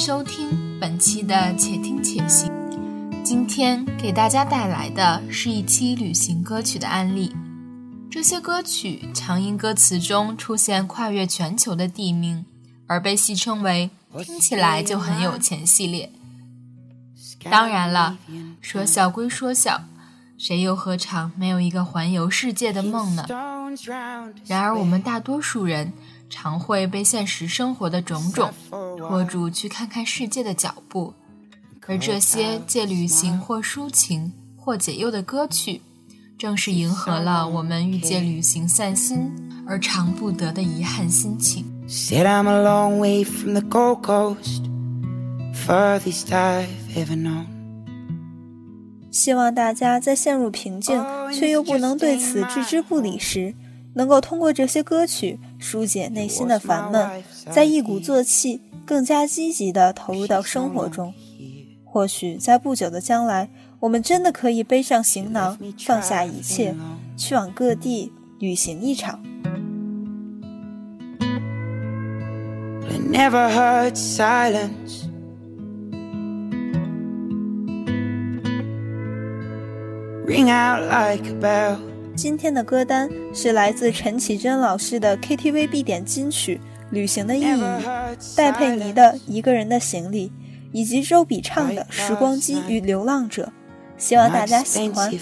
收听本期的且听且行。今天给大家带来的是一期旅行歌曲的案例。这些歌曲常因歌词中出现跨越全球的地名而被戏称为听起来就很有钱系列。当然了，说笑归说笑，谁又何尝没有一个环游世界的梦呢？然而我们大多数人常会被现实生活的种种拖住去看看世界的脚步，而这些借旅行或抒情或解忧的歌曲，正是迎合了我们欲借旅行散心而常不得的遗憾心情。 Said I'm a long way from the Gold Coast, furthest I've ever known。 希望大家在陷入瓶颈却又不能对此置之不理时，能够通过这些歌曲疏解内心的烦闷，再一鼓作气更加积极地投入到生活中。或许在不久的将来，我们真的可以背上行囊，放下一切，去往各地旅行一场。 I never heard silence, ring out like a bell。 今天的歌单是来自陈绮贞老师的 KTV 必点金曲《旅行的意义》，戴佩妮的《一个人的行李》，以及周笔畅的《时光机与流浪者》，希望大家喜欢。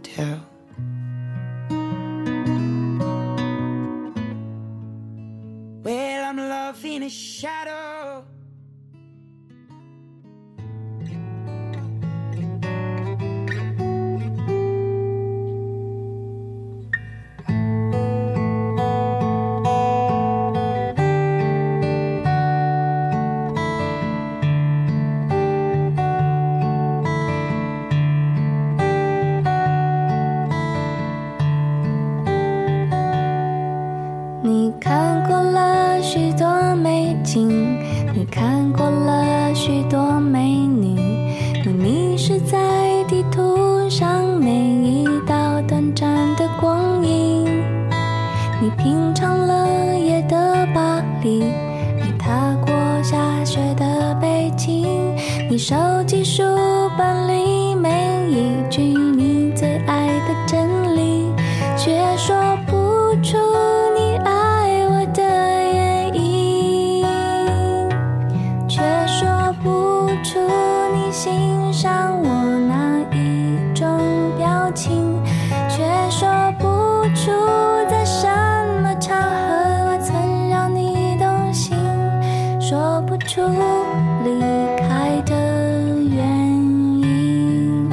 Well, I'm loving a shadow. 你手机书本里每一句你最爱的真理，却说不出你爱我的原因，却说不出你欣赏我哪一种表情，却说不出在什么场合我曾让你动心，说不出离开的原因。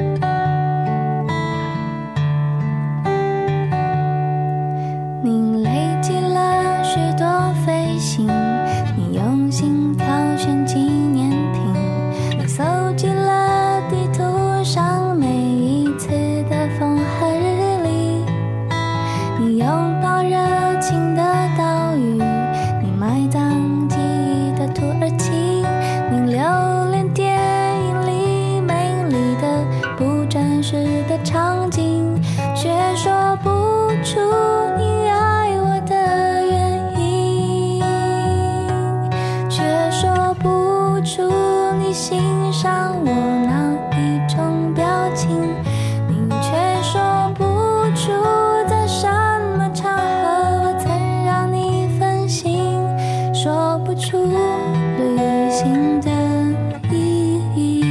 你累积了许多飞行，你用心挑选纪念品，你搜集了地图上每一次的风和日丽，你拥抱热情的岛屿，你埋葬记忆的土耳其，你留恋电影里美丽的不真实的场景，却说不出你爱我的原因，却说不出你欣赏我哪一种表情，你却说不出在什么场合我曾让你分心，说不出旅行的意义。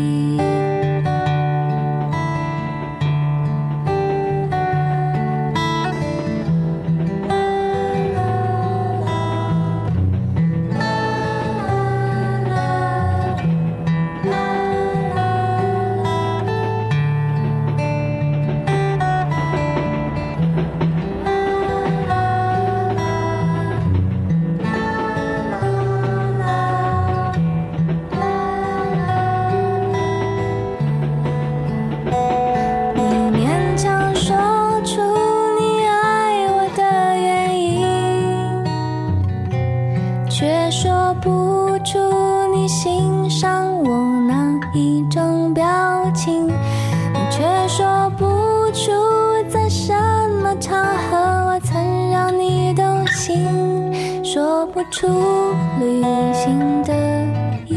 却说不出你欣赏我哪一种表情，你却说不出在什么场合我曾让你动心，说不出旅行的意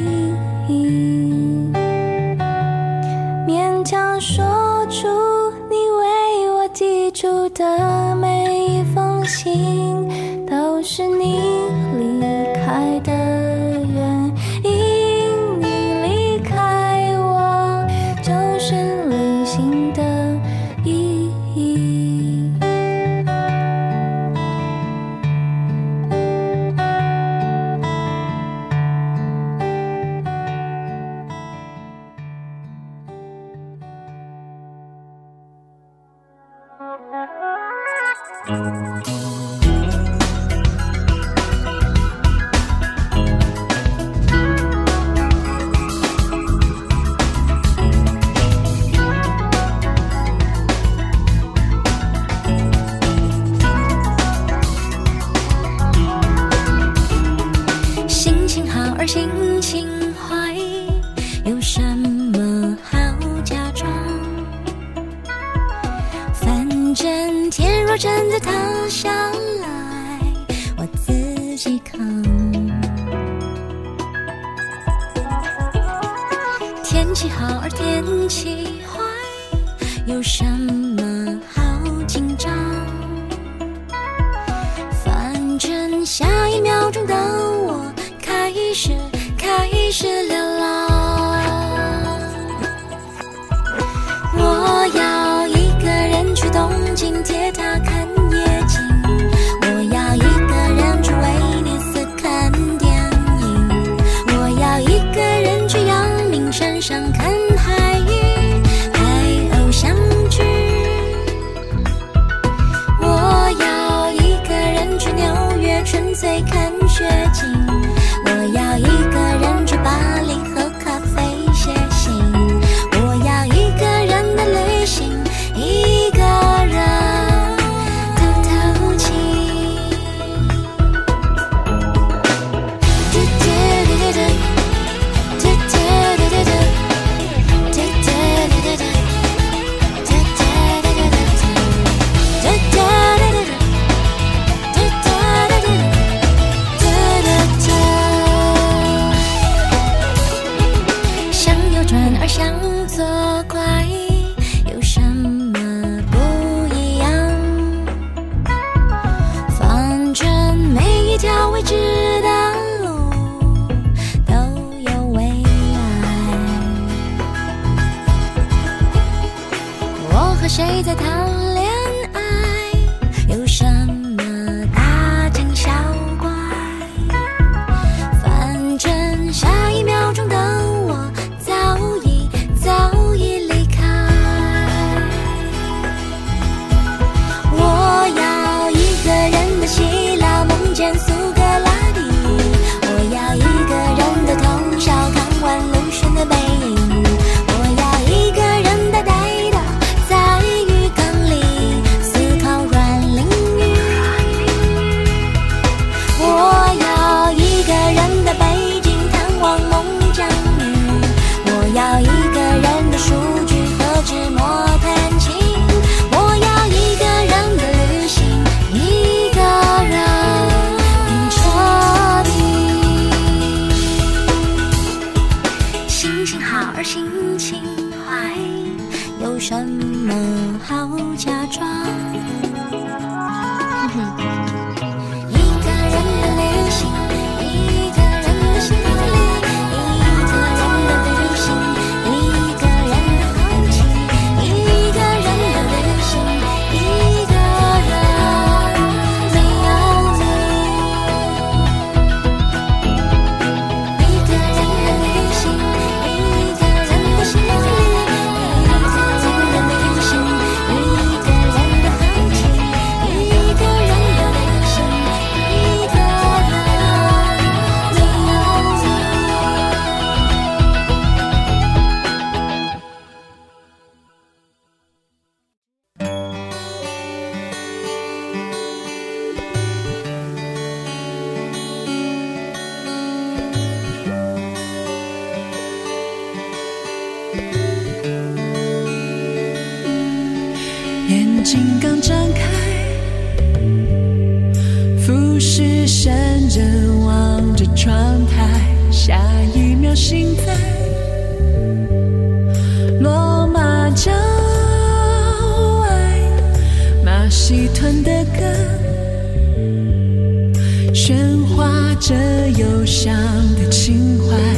的每一封信都是你离开的原因，你离开我就是旅行的意义。心情好而心情坏，有什么好假装？反正天若真的塌下来，我自己扛。天气好而天气坏，有什么好紧张？反正下一秒钟的我开始流浪。我要一个人去东京铁塔看夜景，我要一个人去威尼斯看电影，我要一个人去阳明山上看海芋拍偶像剧，我要一个人去纽约纯粹看雪景，我要一个人去巴黎喝咖啡写信，我要一个人的旅行，一个人透透气。想扭转而想作怪，有什么不一样？反正每一条未知的路都有未来。我和谁在谈恋爱？有什么大惊小怪？反正下一秒钟的我早已离开。我要一个人的希腊梦见苏格拉底，我要一个人的通宵看完陆巡的背影，我要一个人呆呆的在浴缸里思考软淋浴，我要一个人的北京探望孟姜女，我要一个人的数据和纸墨弹琴，我要一个人的旅行，一个人很彻底。心情好而心情坏，有什么好假装？一个人的旅行，一个人的心里，一个人的旅行，一个人的空气，一个人的旅行，一个人没有你。一个人的旅行，一个人的心里，一个人的旅行，一个人的空气，一个人的旅行，一个人没有你。 眼睛刚张开，俯视山人望着窗台，下一秒醒在罗马郊外，马戏欢的歌，喧哗着忧伤的情怀。